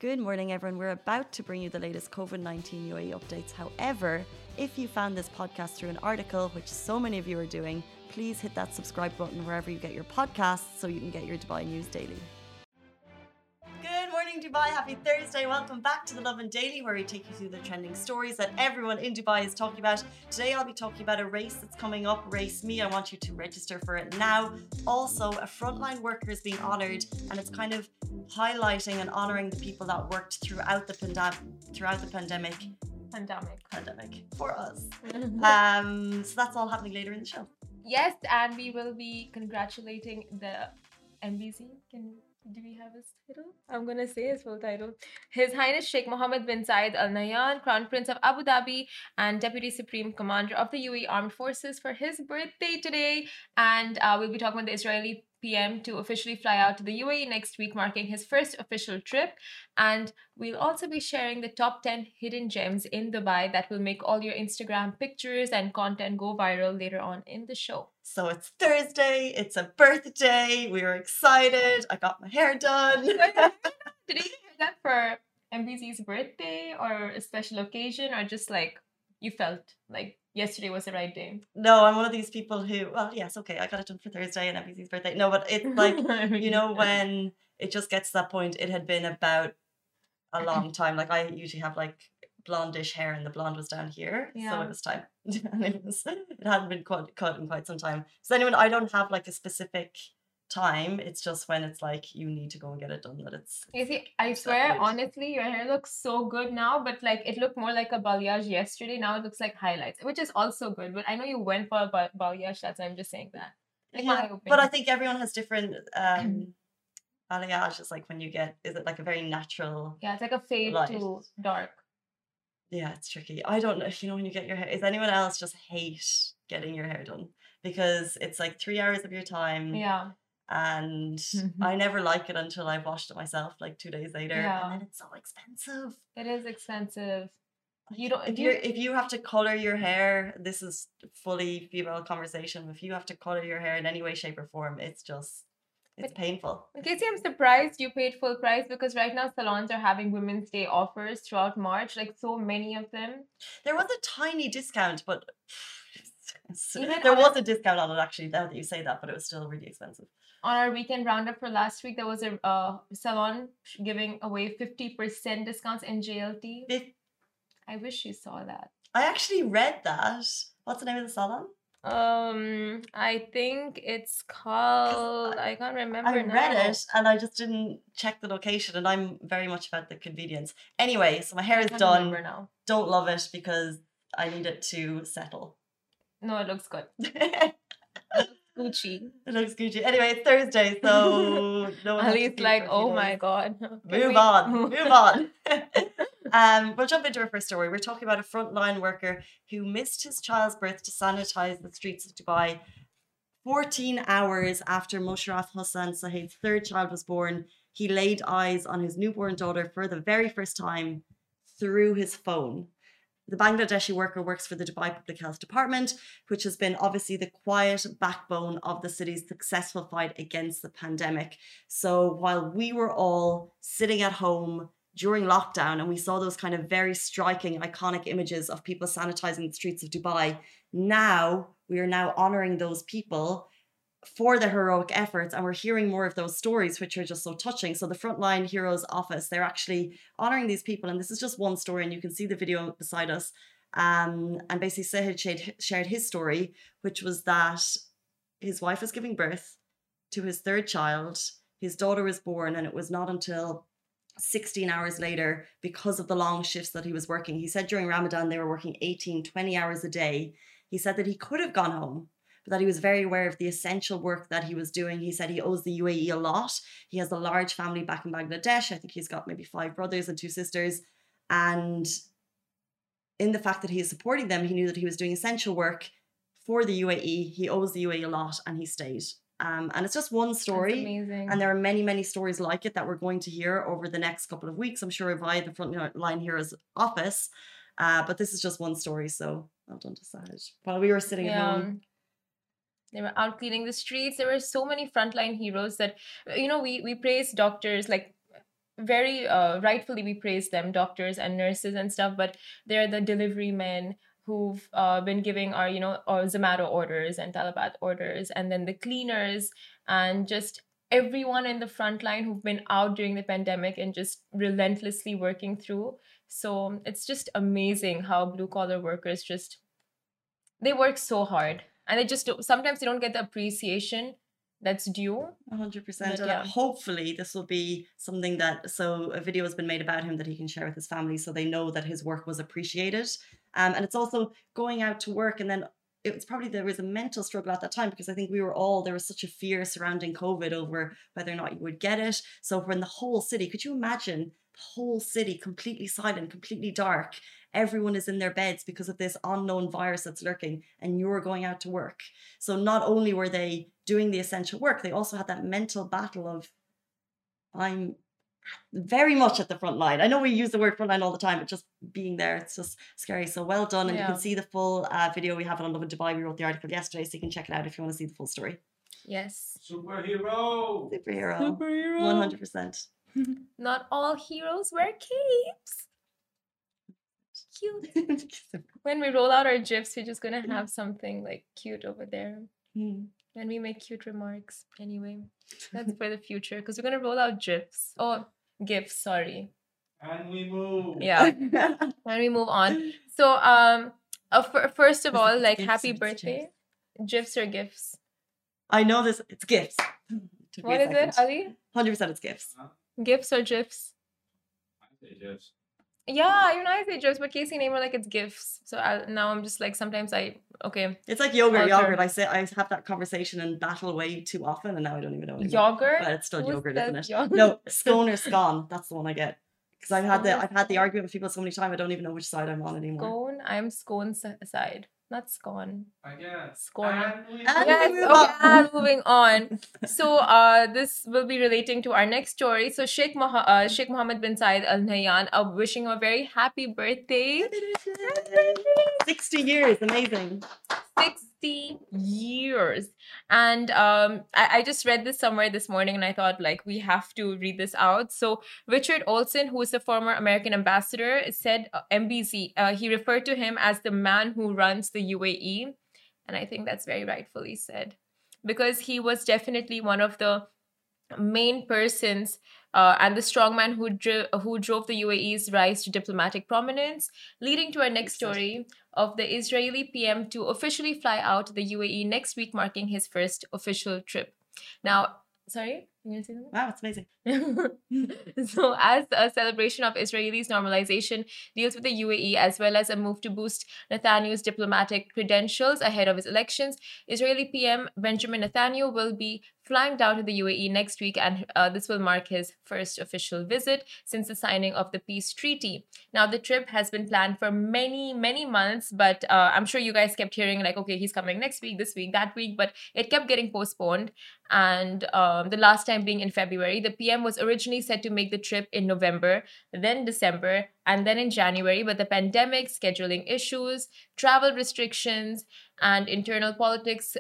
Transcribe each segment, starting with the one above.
Good morning, everyone. We're about to bring you the latest COVID-19 UAE updates. However, if you found this podcast through an article, which so many of you are doing, please hit that subscribe button wherever you get your podcasts so you can get your Dubai news daily. Good morning, Dubai. Happy Thursday. Welcome back to the Lovin Daily, where we take you through the trending stories that everyone in Dubai is talking about. Today, I'll be talking about a race that's coming up, Race Me. I want you to register for it now. Also, a frontline worker is being honoured, and it's kind of highlighting and honouring the people that worked throughout the pandemic for us. So that's all happening later in the show. Yes, and we will be congratulating the MBC. Do we have his title? I'm gonna say his full title. His Highness Sheikh Mohammed bin Zayed Al Nahyan, Crown Prince of Abu Dhabi and Deputy Supreme Commander of the UAE Armed Forces, for his birthday today. And we'll be talking about the Israeli PM to officially fly out to the UAE next week, marking his first official trip. And we'll also be sharing the top 10 hidden gems in Dubai that will make all your Instagram pictures and content go viral later on in the show. So it's Thursday, it's a birthday, we were excited, I got my hair done. Did you hear that for MBC's birthday or a special occasion, or just like you felt like yesterday was the right day? No, I'm one of these people who, well, yes, okay, I got it done for Thursday and MBC's birthday. No, but it's like, you know, when it just gets to that point, it had been about a long time. Like I usually have like blondish hair and the blonde was down here. Yeah. So it was time. And it hadn't been cut in quite some time. So anyway, I don't have like a specific time. It's just when it's like you need to go and get it done that it's. You see, I swear, honestly, your hair looks so good now, but like it looked more like a balayage yesterday. Now it looks like highlights, which is also good. But I know you went for a balayage, that's why I'm just saying that. Like Yeah, but I think everyone has different balayage is like when you get, is it like a very natural? Yeah, it's like a fade light. to dark. Yeah, it's tricky. I don't know if you know when you get your hair. Is anyone else just hate getting your hair done? Because it's like 3 hours of your time. Yeah. And I never like it until I've washed it myself like 2 days later. Yeah. And then it's so expensive. It is expensive. You don't if you have to color your hair, this is fully female conversation. If you have to color your hair in any way, shape, or form, it's painful. Casey, I'm surprised you paid full price, because right now salons are having Women's Day offers throughout March, like so many of them. There was a tiny discount, but there was a discount on it actually, now that you say that, but it was still really expensive. On our weekend roundup for last week, there was a salon giving away 50% discounts in JLT. I wish you saw that. I actually read that. What's the name of the salon? I think it's called, I can't remember. I read it and I just didn't check the location, and I'm very much about the convenience. Anyway, so my hair is done. Now. Don't love it because I need it to settle. No, it looks good. Gucci. It looks Gucci. Anyway, it's Thursday, so no one. Ali's like, oh my god. Move on. We'll jump into our first story. We're talking about a frontline worker who missed his child's birth to sanitize the streets of Dubai 14 hours after Mosharraf Hossain Saheed's third child was born. He laid eyes on his newborn daughter for the very first time through his phone. The Bangladeshi worker works for the Dubai Public Health Department, which has been obviously the quiet backbone of the city's successful fight against the pandemic. So while we were all sitting at home during lockdown and we saw those kind of very striking, iconic images of people sanitizing the streets of Dubai, we are now honoring those people for their heroic efforts, and we're hearing more of those stories, which are just so touching. So the Frontline Heroes office, they're actually honoring these people, and this is just one story, and you can see the video beside us. And basically Saheed shared his story, which was that his wife was giving birth to his third child, his daughter was born, and it was not until 16 hours later, because of the long shifts that he was working. He said during Ramadan they were working 18, 20 hours a day. He said that he could have gone home, but that he was very aware of the essential work that he was doing. He said he owes the UAE a lot. He has a large family back in Bangladesh. I think he's got maybe 5 brothers and 2 sisters. And in the fact that he is supporting them, he knew that he was doing essential work for the UAE. He owes the UAE a lot, and he stayed. And it's just one story. That's amazing. And there are many, many stories like it that we're going to hear over the next couple of weeks, I'm sure, via the Frontline Heroes office. But this is just one story, so well done to Saheed. While we were sitting at home. They were out cleaning the streets. There were so many frontline heroes that, we praise doctors, like very rightfully we praise them, doctors and nurses and stuff, but they're the delivery men who've been giving our, or Zomato orders and Talabat orders, and then the cleaners and just everyone in the front line who've been out during the pandemic and just relentlessly working through. So it's just amazing how blue collar workers just, they work so hard, and they just sometimes they don't get the appreciation that's due. 100%. But And yeah. hopefully this will be something that, so a video has been made about him that he can share with his family so they know that his work was appreciated. And it's also going out to work, and then it was probably, there was a mental struggle at that time because I think there was such a fear surrounding COVID over whether or not you would get it. So when the whole city, could you imagine the whole city completely silent, completely dark? Everyone is in their beds because of this unknown virus that's lurking, and you're going out to work. So not only were they doing the essential work, they also had that mental battle of, I'm very much at the front line. I know we use the word front line all the time, but just being there, it's just scary. So well done. And you can see the full video. We have it on Love in Dubai. We wrote the article yesterday, so you can check it out if you want to see the full story. Yes. Superhero. 100%. Not all heroes wear capes. Cute. When we roll out our GIFs, we're just gonna have something like cute over there. Then we make cute remarks. Anyway, that's for the future because we're gonna roll out GIFs. Oh, GIFs, sorry. And we move. Yeah. And we move on. So, first of all, like, happy birthday. GIFs or GIFs? I know this. It's GIFs. What is it, Ali? 100% it's GIFs. GIFs or GIFs? I say GIFs. Yeah, you know, I say GIFs, but Casey and I were like, it's GIFs. So now I'm just like, sometimes okay. It's like yogurt. I have that conversation and battle way too often, and now I don't even know anymore. Yogurt? But it's still yogurt, isn't it? Yogurt? No, scone or scone. That's the one I get. Because I've had the argument with people so many times, I don't even know which side I'm on anymore. Scone? I'm scone side. Not scone. I guess. Scone. And moving on. So this will be relating to our next story. So Sheikh Mohammed bin Zayed Al Nahyan, wishing him a very happy birthday. 60 years, amazing. 60 years. And I just read this somewhere this morning and I thought, like, we have to read this out. So Richard Olson, who is the former American ambassador, said MBZ, he referred to him as the man who runs the UAE. And I think that's very rightfully said, because he was definitely one of the main persons and the strongman who drove the UAE's rise to diplomatic prominence, leading to our next story of the Israeli PM to officially fly out to the UAE next week, marking his first official trip. Now, sorry? Can you see that? Wow, it's amazing. So, as a celebration of Israelis' normalization deals with the UAE, as well as a move to boost Netanyahu's diplomatic credentials ahead of his elections, Israeli PM Benjamin Netanyahu will be flying down to the UAE next week, and this will mark his first official visit since the signing of the peace treaty. Now, the trip has been planned for many, many months, but I'm sure you guys kept hearing, like, okay, he's coming next week, this week, that week, but it kept getting postponed. And the last time being in February, the PM was originally set to make the trip in November, then December, and then in January, but the pandemic, scheduling issues, travel restrictions, and internal politics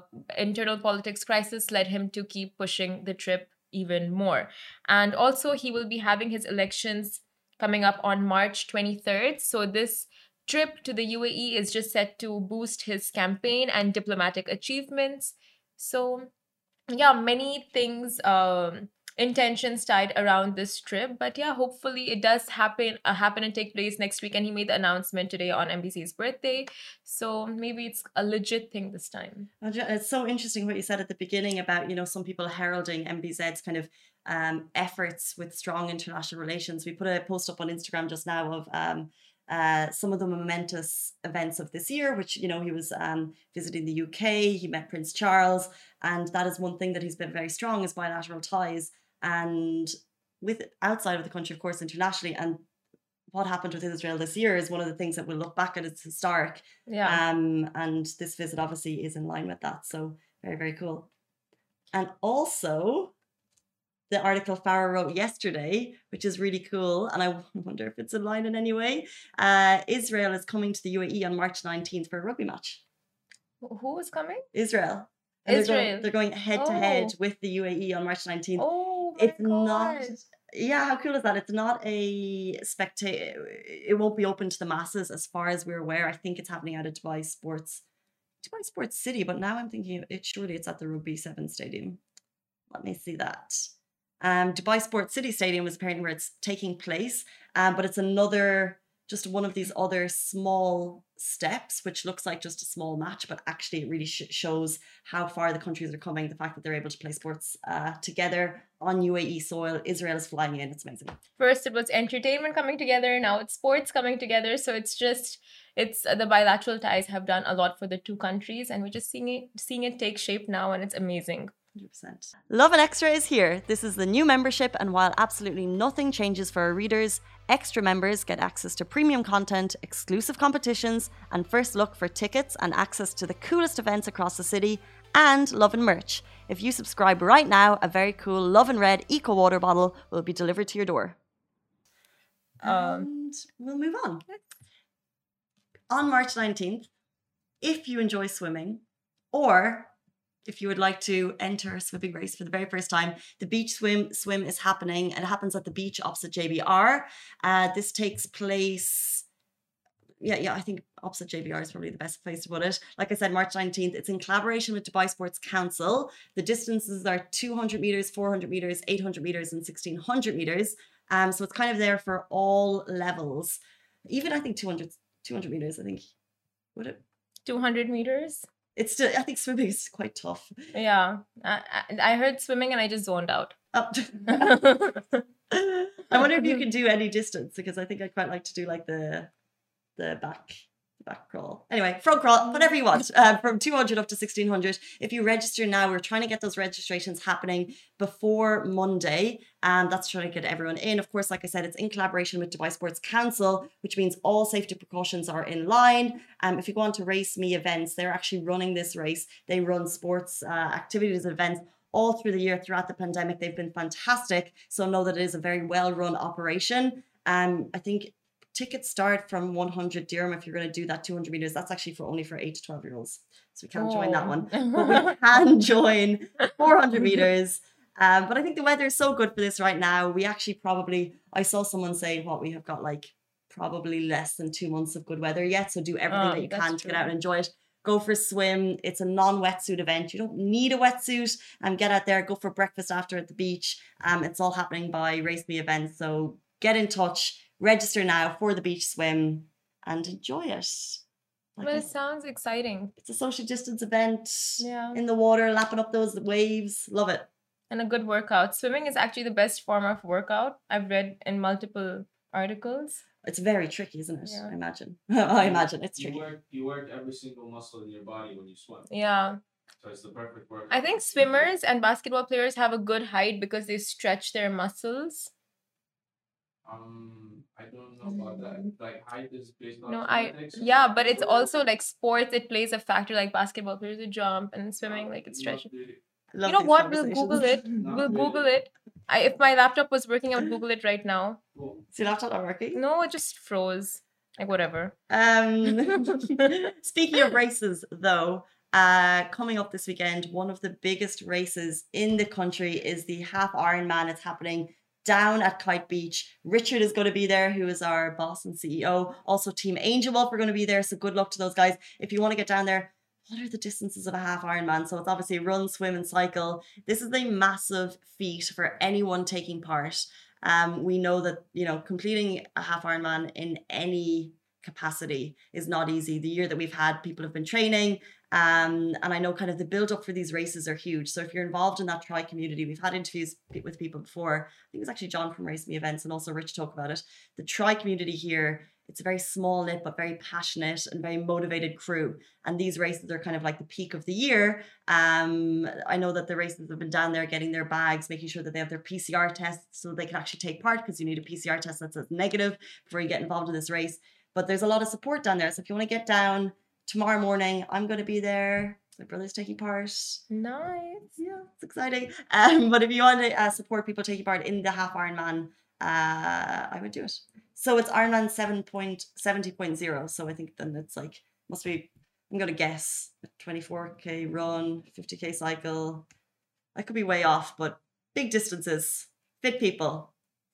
crisis led him to keep pushing the trip even more. And also, he will be having his elections coming up on March 23rd. So this trip to the UAE is just set to boost his campaign and diplomatic achievements. So yeah, many things, intentions tied around this trip, but yeah, hopefully it does happen and take place next week. And he made the announcement today on MBC's birthday, so maybe it's a legit thing this time. It's so interesting what you said at the beginning about, some people heralding MBZ's kind of efforts with strong international relations. We put a post up on Instagram just now of some of the momentous events of this year, which, he was visiting the UK, he met Prince Charles, and that is one thing that he's been very strong, is bilateral ties, and with outside of the country, of course, internationally. And what happened with Israel this year is one of the things that we'll look back at. It's historic. Yeah. And this visit obviously is in line with that. So very, very cool. And also, the article Farah wrote yesterday, which is really cool, and I wonder if it's in line in any way. Israel is coming to the UAE on March 19th for a rugby match. Who is coming? Israel. And Israel. They're going head to head with the UAE on March 19th. Oh, it's not Yeah, how cool is that? It's not a it won't be open to the masses as far as we're aware. I think it's happening out of Dubai Sports City, but now I'm thinking surely it's at the Rugby 7 Stadium. Let me see that. Dubai Sports City Stadium is apparently where it's taking place, but it's just one of these other small steps, which looks like just a small match, but actually it really shows how far the countries are coming. The fact that they're able to play sports together on UAE soil, Israel is flying in. It's amazing. First, it was entertainment coming together. Now it's sports coming together. So it's the bilateral ties have done a lot for the two countries, and we're just seeing it take shape now, and it's amazing. 100%. Lovin Extra is here. This is the new membership, and while absolutely nothing changes for our readers, extra members get access to premium content, exclusive competitions, and first look for tickets and access to the coolest events across the city, and Lovin merch. If you subscribe right now, a very cool Lovin Red Eco Water bottle will be delivered to your door. And we'll move on. On March 19th, if you enjoy swimming, or if you would like to enter a swimming race for the very first time, the beach swim is happening, and it happens at the beach opposite JBR. This takes place, I think opposite JBR is probably the best place to put it. Like I said, March 19th. It's in collaboration with Dubai Sports Council. The distances are 200 meters, 400 meters, 800 meters, and 1600 meters. So it's kind of there for all levels. Even I think 200 meters, I think. Would it? 200 meters? It's still, I think swimming is quite tough. Yeah. I heard swimming and I just zoned out. Oh. I wonder if you can do any distance, because I think I'd quite like to do like the back crawl. Anyway, front crawl, whatever you want, from 200 up to 1600. If you register now, we're trying to get those registrations happening before Monday, and that's trying to get everyone in. Of course, like I said, it's in collaboration with Dubai Sports Council, which means all safety precautions are in line. If you go on to Race Me events, they're actually running this race. They run sports activities events all through the year throughout the pandemic. They've been fantastic. So know that it is a very well-run operation. I think tickets start from 100 dirham if you're going to do that 200 meters. That's actually only for 8 to 12 year olds. So we can't join that one. But we can join 400 meters. But I think the weather is so good for this right now. We actually I saw someone say we have got like probably less than 2 months of good weather yet. So do everything that you can to get out and enjoy it. Go for a swim. It's a non-wetsuit event. You don't need a wetsuit. Get out there, go for breakfast after at the beach. It's all happening by Race Me events. So get in touch. Register now for the beach swim and enjoy it. It sounds exciting. It's a social distance event in the water, lapping up those waves. Love it. And a good workout. Swimming is actually the best form of workout. I've read in multiple articles. It's very tricky, isn't it? Yeah. I imagine. I imagine it's tricky. You work every single muscle in your body when you swim. Yeah. So it's the perfect workout. I think swimmers and basketball players have a good height because they stretch their muscles. I don't know about that. Like height is based on genetics. But it's also like sports. It plays a factor. Like basketball players, they jump, and swimming, like it's stretching. You know what? We'll Google it. Google it. If my laptop was working, I would Google it right now. Cool. Is your laptop not working? No, it just froze. Like whatever. Speaking of races, though, coming up this weekend, one of the biggest races in the country is the half Ironman. It's happening down at Kite Beach. Richard is going to be there, who is our boss and CEO. Also, Team Angel Wolf are going to be there. So good luck to those guys. If you want to get down there, what are the distances of a half Ironman? So it's obviously run, swim, and cycle. This is a massive feat for anyone taking part. We know that, completing a half Ironman in any capacity is not easy. The year that we've had, people have been training. And I know kind of the build up for these races are huge. So if you're involved in that tri community, we've had interviews with people before. I think it was actually John from Race Me Events and also Rich talk about it. The tri community here, it's a very small knit, but very passionate and very motivated crew. And these races are kind of like the peak of the year. I know that the races have been down there getting their bags, making sure that they have their PCR tests so they can actually take part, because you need a PCR test that says negative before you get involved in this race. But there's a lot of support down there. So if you want to get down, tomorrow morning, I'm going to be there. My brother's taking part. Nice. Yeah, it's exciting. But if you want to support people taking part in the half Ironman, I would do it. So it's Ironman 70.0. So I think then it's like, must be, I'm going to guess, a 24K run, 50K cycle. I could be way off, but big distances, fit people.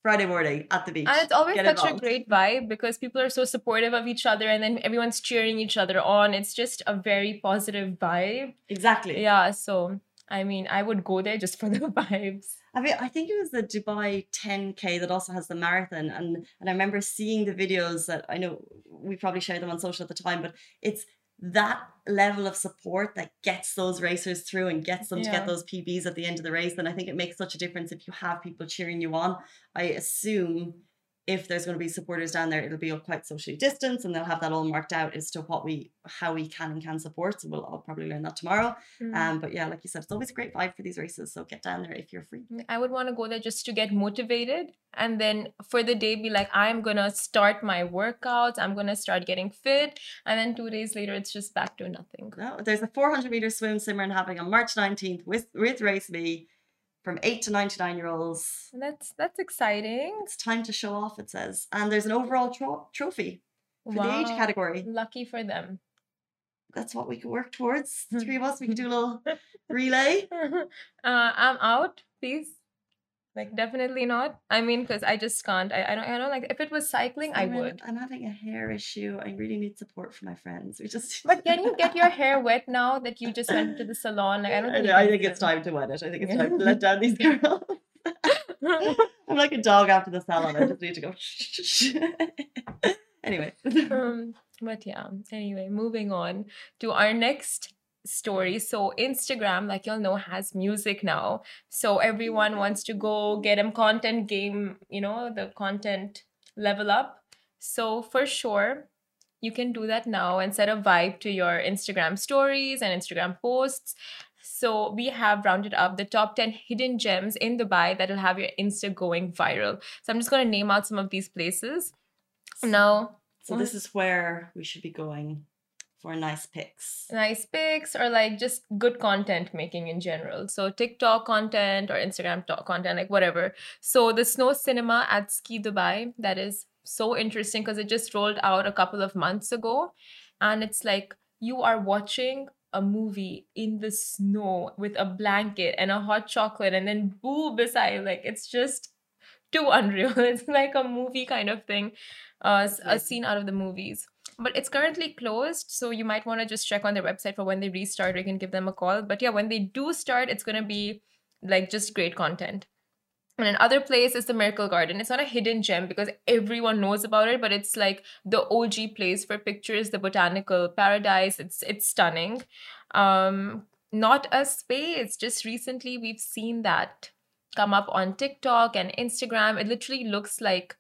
Friday morning at the beach. And it's always Get such a involved. great vibe because people are so supportive of each other and then everyone's cheering each other on. It's just a very positive vibe. Exactly. Yeah, so I mean, I would go there just for the vibes. I mean, I think it was the Dubai 10K that also has the marathon, and I remember seeing the videos that I know we probably shared them on social at the time, but it's that level of support that gets those racers through and gets them to Yeah. get those PBs at the end of the race. And I think it makes such a difference if you have people cheering you on. I assume if there's going to be supporters down there, it'll be quite socially distanced, and they'll have that all marked out as to how we can and can support. So I'll probably learn that tomorrow. But yeah, like you said, it's always a great vibe for these races. So get down there if you're free. I would want to go there just to get motivated and then for the day be like, I'm going to start my workouts. I'm going to start getting fit. And then 2 days later, it's just back to nothing. No, there's a 400-meter swim Simran happening on March 19th with Race Me from 8 to 99-year-olds. That's exciting. It's time to show off, it says. And there's an overall trophy for the age category. Lucky for them. That's what we can work towards. The three of us, we can do a little relay. I'm out, please. Like, definitely not. I mean, because I just can't. I don't like, if it was cycling, I would. I'm having a hair issue. I really need support from my friends. But can you get your hair wet now that you just went to the salon? Like, I think it's time to wet it. I think it's time to let down these girls. I'm like a dog after the salon. I just need to go. Anyway. But yeah, anyway, moving on to our next story. So Instagram, like you'll know, has music now. So everyone wants to go get them content game, the content level up. So for sure, you can do that now and set a vibe to your Instagram stories and Instagram posts. So we have rounded up the top 10 hidden gems in Dubai that'll have your Insta going viral. So I'm just going to name out some of these places. Now, so this is where we should be going for nice pics. Nice pics or like just good content making in general. So TikTok content or Instagram content, like whatever. So the Snow Cinema at Ski Dubai, that is so interesting because it just rolled out a couple of months ago. And it's like you are watching a movie in the snow with a blanket and a hot chocolate and then boo beside. Like it's just too unreal. It's like a movie kind of thing, a scene out of the movies. But it's currently closed, so you might want to just check on their website for when they restart. We can give them a call. But yeah, when they do start, it's going to be like just great content. And another place is the Miracle Garden. It's not a hidden gem because everyone knows about it, but it's like the OG place for pictures, the botanical paradise. It's stunning. Not a space. Just recently we've seen that come up on TikTok and Instagram. It literally looks like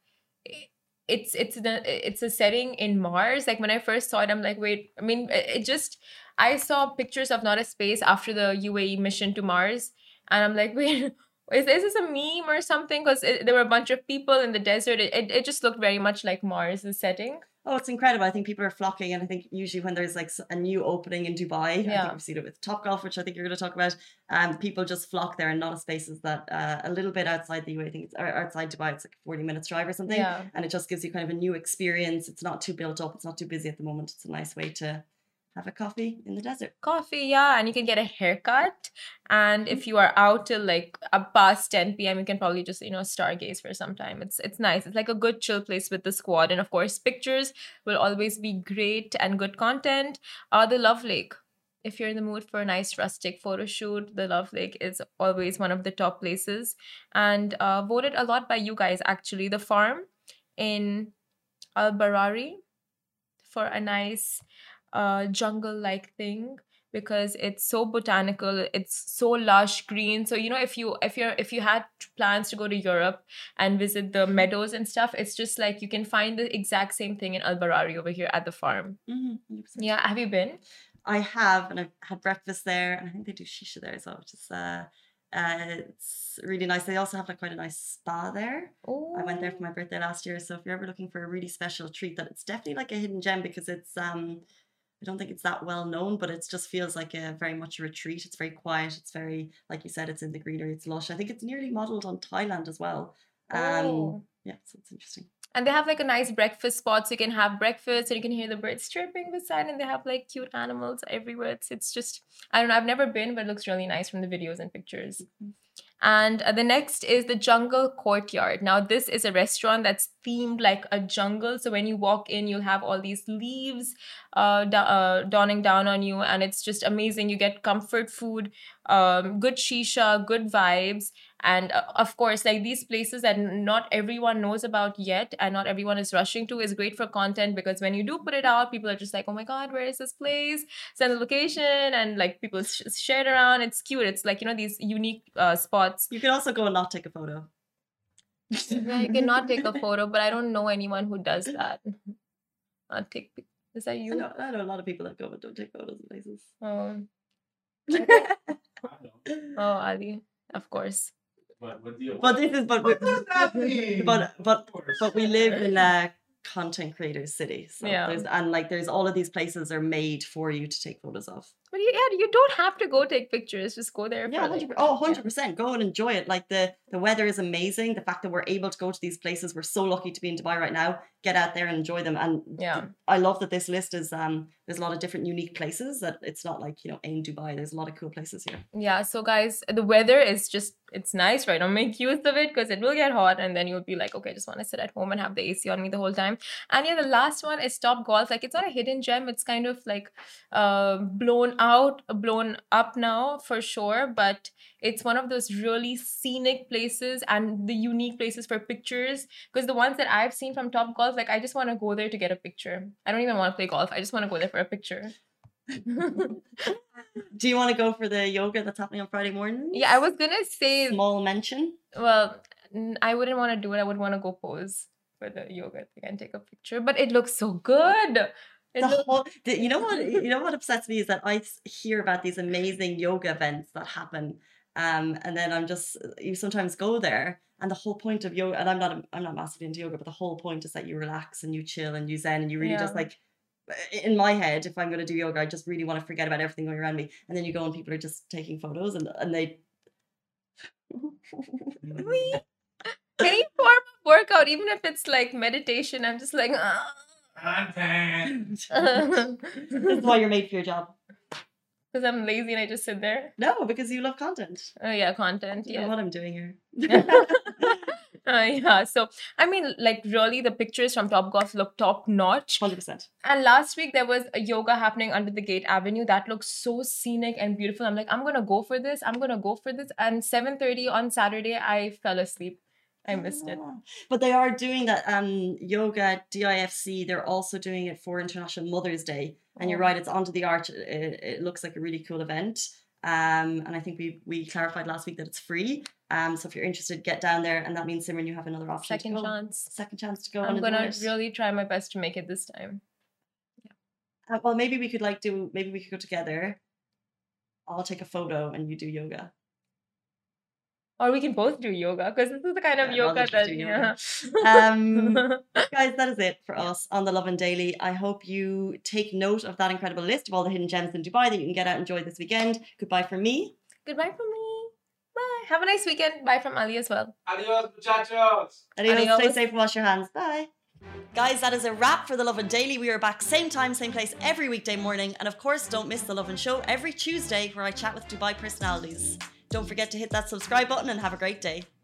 it's a setting in Mars. Like when I first saw it, I'm like, wait, I mean, I saw pictures of Not a Space after the UAE mission to Mars, and I'm like, wait, is this a meme or something? Because there were a bunch of people in the desert. It just looked very much like Mars, the setting. Oh, it's incredible. I think people are flocking, and I think usually when there's like a new opening in Dubai, I think we've seen it with Topgolf, which I think you're going to talk about, people just flock there, and Not a Space is that a little bit outside the UAE. I think it's outside Dubai. It's like 40 minutes drive or something, and it just gives you kind of a new experience. It's not too built up. It's not too busy at the moment. It's a nice way to have a coffee in the desert. Coffee, yeah, and you can get a haircut. And if you are out till like past 10 p.m., you can probably just, stargaze for some time. It's nice. It's like a good chill place with the squad. And of course, pictures will always be great and good content. The Love Lake. If you're in the mood for a nice rustic photo shoot, the Love Lake is always one of the top places. And voted a lot by you guys, actually. The Farm in Al Barari for a nice jungle-like thing because it's so botanical, it's so lush green. So if you had plans to go to Europe and visit the meadows and stuff, it's just like you can find the exact same thing in Al Barari over here at the Farm. 100%. Yeah, have you been? I have, and I've had breakfast there, and I think they do shisha there as well, which is it's really nice. They also have like quite a nice spa there. Ooh. I went there for my birthday last year, so if you're ever looking for a really special treat, that it's definitely like a hidden gem because it's I don't think it's that well known, but it just feels like a very much a retreat. It's very quiet. It's very, like you said, it's in the greenery. It's lush. I think it's nearly modeled on Thailand as well. Yeah, so it's interesting. And they have like a nice breakfast spot, so you can have breakfast and you can hear the birds chirping beside, and they have like cute animals everywhere. It's just, I don't know, I've never been, but it looks really nice from the videos and pictures. And the next is the Jungle Courtyard. Now, this is a restaurant that's themed like a jungle. So when you walk in, you'll have all these leaves dawning down on you, and it's just amazing. You get comfort food, good shisha, good vibes, and of course, like these places that not everyone knows about yet, and not everyone is rushing to, is great for content, because when you do put it out, people are just like, oh my god, where is this place? Send the location, and like people share it around. It's cute. It's like, you know, these unique spots. You can also go and not take a photo. Yeah, you cannot take a photo, but I don't know anyone who does that. Is that you? I know a lot of people that go but don't take photos of places. Oh, I know. oh, Ali, of course. But this is but we live in a content creator city, so Yeah. there's all of these places are made for you to take photos of. But you don't have to go take pictures. Just go there. Yeah, For like, 100%. Go and enjoy it. Like the weather is amazing. The fact that we're able to go to these places, we're so lucky to be in Dubai right now. Get out there and enjoy them. And Yeah. I love that this list is there's a lot of different unique places. That it's not like, you know, in Dubai. There's a lot of cool places here. Yeah, so guys, the weather is just, it's nice right now. Make use of it, because it will get hot, and then you'll be like, okay, I just want to sit at home and have the AC on me the whole time. And yeah, the last one is Top Golf. Like, it's not a hidden gem. It's kind of like blown up now for sure, but it's one of those really scenic places and the unique places for pictures, because the ones that I've seen from Top Golf, like I just want to go there to get a picture. I don't even want to play golf. I just want to go there for a picture. Do you want to go for the yoga that's happening on Friday morning? Yeah, I was gonna say, Small mention. well, I wouldn't want to do it. I would want to go pose for the yoga thing and take a picture, but it looks so good. You know what upsets me is that I hear about these amazing yoga events that happen, and then you sometimes go there, and the whole point of yoga, and I'm not massively into yoga, but the whole point is that you relax and you chill and you zen and you really just like, in my head, if I'm going to do yoga, I just really want to forget about everything going around me, and then you go and people are just taking photos and they. Any form of workout, even if it's like meditation, I'm just like, Content. This is why you're made for your job. because I'm lazy and I just sit there. No, because you love content. Oh yeah, content. You know Yeah. what I'm doing here. Yeah. So I mean, like really, the pictures from Top Golf look top notch. 100%. And last week there was a yoga happening under the Gate Avenue that looks so scenic and beautiful. I'm like, I'm gonna go for this. I'm gonna go for this. And 7:30 on Saturday, I fell asleep. I missed it. Ah. But they are doing that yoga at DIFC. They're also doing it for International Mother's Day. And you're Oh. right, it's onto the arch. It looks like a really cool event. And I think we clarified last week that it's free. So if you're interested, get down there. And that means, Simran, you have another option Second to go. chance. Second chance to go. I'm and gonna enjoy it. really try my best to make it this time. Well, maybe we could go together. I'll take a photo and you do yoga. Or we can both do yoga, because this is the kind of Yeah, I'd yoga rather just that do yeah. yoga. Guys, that is it for us on the Lovin Daily. I hope you take note of that incredible list of all the hidden gems in Dubai that you can get out and enjoy this weekend. Goodbye from me. Goodbye from me. Bye. Have a nice weekend. Bye from Ali as well. Adios, muchachos. Adios. Stay Adios. safe and wash your hands. Bye. Guys, that is a wrap for the Lovin Daily. We are back same time, same place every weekday morning. And of course, don't miss the Lovin Show every Tuesday where I chat with Dubai personalities. Don't forget to hit that subscribe button and have a great day.